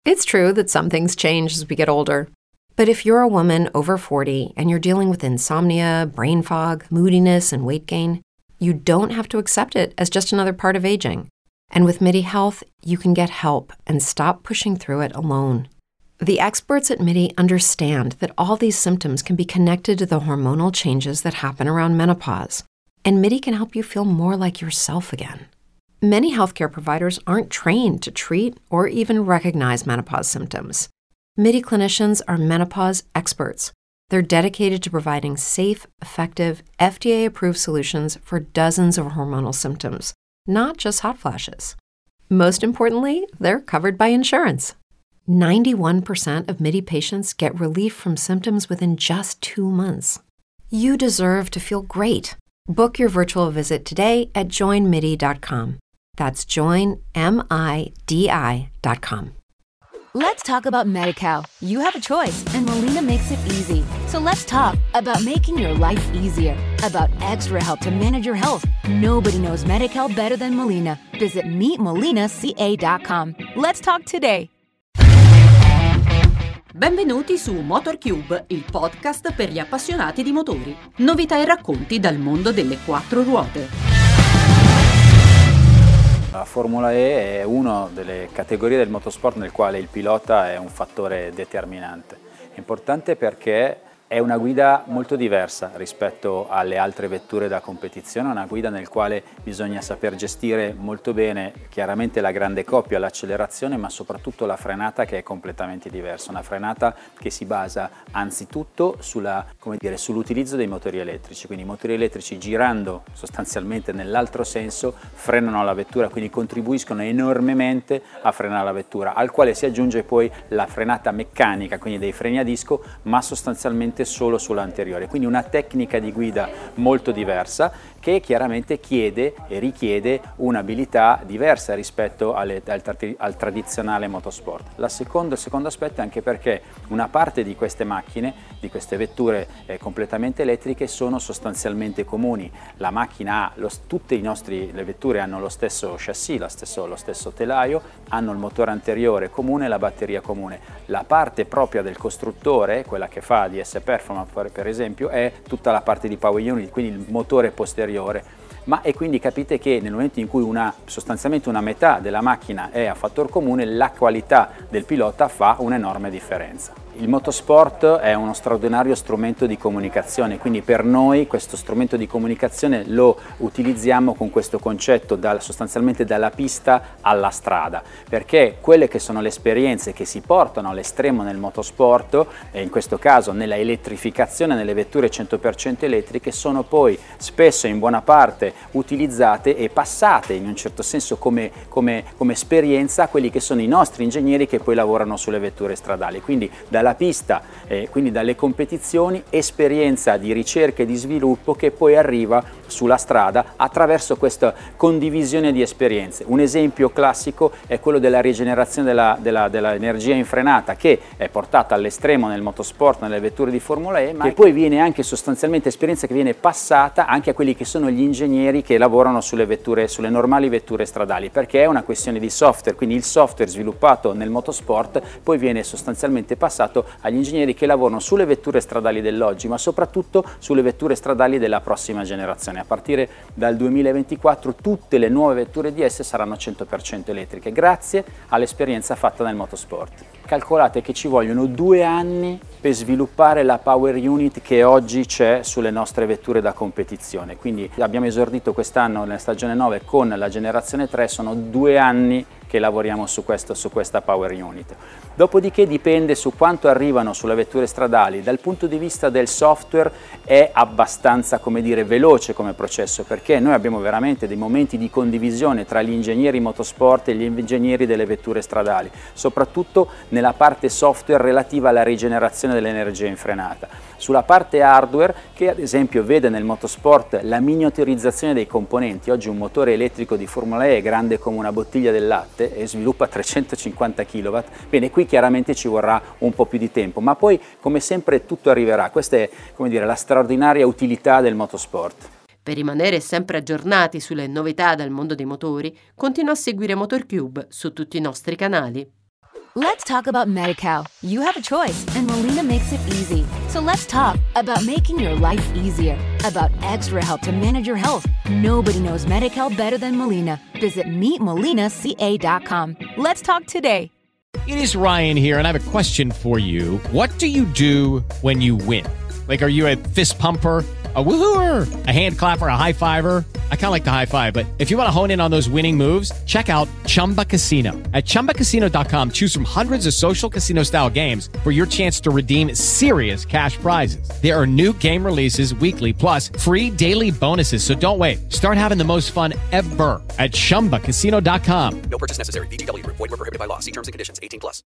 It's true that some things change as we get older. But if you're a woman over 40 and you're dealing with insomnia, brain fog, moodiness, and weight gain, you don't have to accept it as just another part of aging. And with MIDI Health, you can get help and stop pushing through it alone. The experts at MIDI understand that all these symptoms can be connected to the hormonal changes that happen around menopause, and MIDI can help you feel more like yourself again. Many healthcare providers aren't trained to treat or even recognize menopause symptoms. MIDI clinicians are menopause experts. They're dedicated to providing safe, effective, FDA-approved solutions for dozens of hormonal symptoms, not just hot flashes. Most importantly, they're covered by insurance. 91% of MIDI patients get relief from symptoms within just 2 months. You deserve to feel great. Book your virtual visit today at joinmidi.com. That's joinmidi.com. Let's talk about Medi-Cal. You have a choice, and Molina makes it easy. So let's talk about making your life easier, about extra help to manage your health. Nobody knows Medi-Cal better than Molina. Visit meetmolinaca.com. Let's talk today. Benvenuti su MotorCube, il podcast per gli appassionati di motori. Novità e racconti dal mondo delle 4 ruote. La Formula E è una delle categorie del motorsport nel quale il pilota è un fattore determinante. È importante perché è una guida molto diversa rispetto alle altre vetture da competizione, una guida nel quale bisogna saper gestire molto bene chiaramente la grande coppia, l'accelerazione, ma soprattutto la frenata, che è completamente diversa, una frenata che si basa anzitutto sull'utilizzo dei motori elettrici, quindi i motori elettrici girando sostanzialmente nell'altro senso frenano la vettura, quindi contribuiscono enormemente a frenare la vettura, al quale si aggiunge poi la frenata meccanica, quindi dei freni a disco, ma sostanzialmente solo sull'anteriore, quindi una tecnica di guida molto diversa che chiaramente chiede e richiede un'abilità diversa rispetto al tradizionale motorsport. Il secondo aspetto è anche perché una parte di queste macchine, di queste vetture completamente elettriche sono sostanzialmente comuni. La macchina tutte le vetture hanno lo stesso chassis, lo stesso telaio, hanno il motore anteriore comune e la batteria comune. La parte propria del costruttore, quella che fa DS Performance per esempio, è tutta la parte di power unit, quindi il motore posteriore. E quindi capite che nel momento in cui sostanzialmente una metà della macchina è a fattor comune, la qualità del pilota fa un'enorme differenza. Il motorsport è uno straordinario strumento di comunicazione, quindi per noi questo strumento di comunicazione lo utilizziamo con questo concetto sostanzialmente dalla pista alla strada, perché quelle che sono le esperienze che si portano all'estremo nel motorsport, e in questo caso nella elettrificazione, nelle vetture 100% elettriche, sono poi spesso in buona parte utilizzate e passate in un certo senso come esperienza a quelli che sono i nostri ingegneri che poi lavorano sulle vetture stradali, quindi dalla pista, quindi dalle competizioni, esperienza di ricerca e di sviluppo che poi arriva sulla strada attraverso questa condivisione di esperienze. Un esempio classico è quello della rigenerazione dell'energia in frenata, che è portata all'estremo nel motorsport, nelle vetture di Formula E, ma che poi viene anche sostanzialmente esperienza che viene passata anche a quelli che sono gli ingegneri che lavorano sulle normali vetture stradali, perché è una questione di software, quindi il software sviluppato nel motorsport poi viene sostanzialmente passato agli ingegneri che lavorano sulle vetture stradali dell'oggi, ma soprattutto sulle vetture stradali della prossima generazione. A partire dal 2024 tutte le nuove vetture DS saranno 100% elettriche, grazie all'esperienza fatta nel motorsport. Calcolate che ci vogliono 2 anni per sviluppare la power unit che oggi c'è sulle nostre vetture da competizione, quindi abbiamo esordito quest'anno nella stagione 9 con la generazione 3, sono 2 anni che lavoriamo su questa power unit. Dopodiché dipende su quanto arrivano sulle vetture stradali. Dal punto di vista del software è abbastanza, veloce come processo, perché noi abbiamo veramente dei momenti di condivisione tra gli ingegneri motorsport e gli ingegneri delle vetture stradali, soprattutto nella parte software relativa alla rigenerazione dell'energia in frenata. Sulla parte hardware, che ad esempio vede nel motorsport la miniaturizzazione dei componenti, oggi un motore elettrico di Formula E è grande come una bottiglia del latte e sviluppa 350 kW, bene, qui chiaramente ci vorrà un po' più di tempo, ma poi come sempre tutto arriverà. Questa è la straordinaria utilità del motorsport. Per rimanere sempre aggiornati sulle novità dal mondo dei motori, continua a seguire MotorCube su tutti i nostri canali. Let's talk about Medi-Cal. You have a choice, and Molina makes it easy. So let's talk about making your life easier, about extra help to manage your health. Nobody knows Medi-Cal better than Molina. Visit meetmolinaca.com. Let's talk today. It is Ryan here, and I have a question for you. What do you do when you win? Like, are you a fist pumper, a woohooer, a hand clapper, a high fiver? I kind of like the high five, but if you want to hone in on those winning moves, check out Chumba Casino. At ChumbaCasino.com, choose from hundreds of social casino-style games for your chance to redeem serious cash prizes. There are new game releases weekly, plus free daily bonuses. So don't wait. Start having the most fun ever at ChumbaCasino.com. No purchase necessary. VGW Group. Void where prohibited by law. See terms and conditions. 18+.